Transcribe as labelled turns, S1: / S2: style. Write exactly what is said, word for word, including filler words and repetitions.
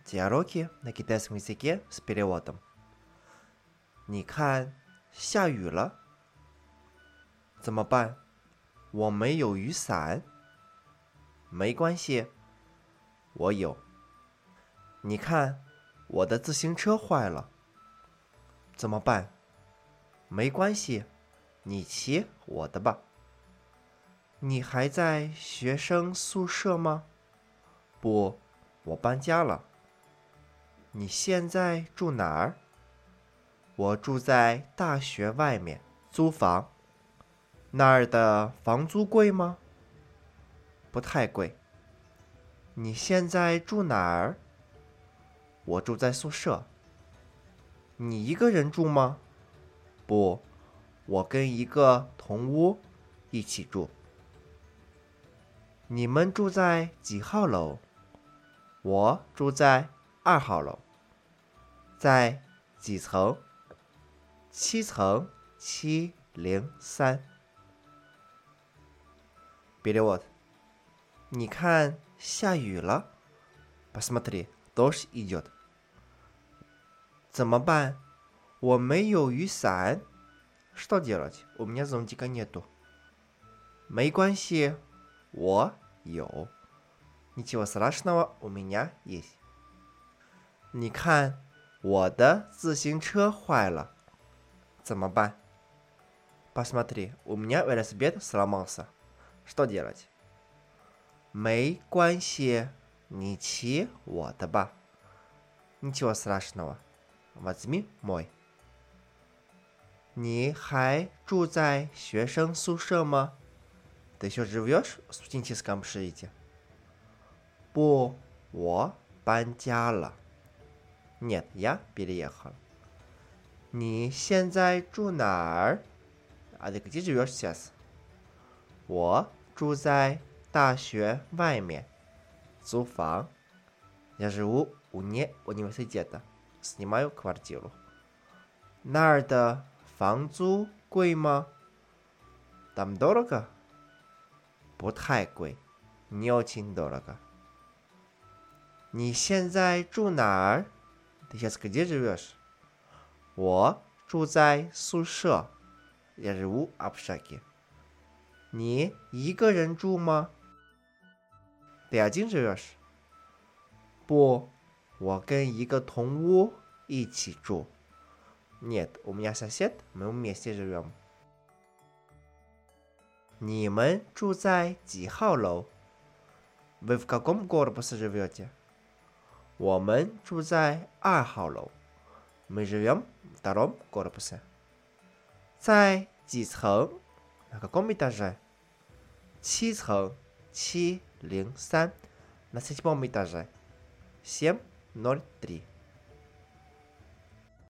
S1: Диалоги на китайском языке с переводом. 你看，下雨了，怎么办？我没有雨伞。没关系，我有。你看，我的自行车坏了，怎么办？没关系，你骑我的吧。你还在学生宿舍吗？不，我搬家了。你现在住哪儿？我住在大学外面租房。那儿的房租贵吗？不太贵。你现在住哪儿？我住在宿舍。你一个人住吗？不，我跟一个同屋一起住。你们住在几号楼？我住在二号楼。在几层？七层七零三。Перевод. 你看，下雨了。Посмотри, дождь идет. 怎么办？我没有雨伞。Что делать? У меня зонтика нету. 没关系，我有。Ничего страшного, у меня есть. 你看，我的自行车坏了，怎么办？ Посмотри, у меня велосипед сломался. Что делать? 没关系，你骑我的吧。Ничего страшного. Возьми мой. 你还住在学生宿舍吗？ Ты еще живешь в студенческом общежитии? 不，我搬家了。Нет, я переехал. 你现在住哪儿？ А ты где живешь сейчас? 我住在大学外面租房。Я живу вне университета. Снимаю квартиру. 那儿的房租贵吗？ Там дорого? 不太贵。Не очень дорого. 你现在住哪儿？ Ты сейчас где живешь? 我住在宿舍。Я живу в общаге. 你一个人住吗？ Ты один живешь? 不，我跟一个同屋一起住。Нет, у меня сосед, мы вместе живем. 你们住在几号楼？ Вы в каком корпусе живете? 我们住在二号楼。Мы живем в втором корпусе. 在几层？ На каком этаже? 七层七零三。На седьмом этаже. семь ноль три.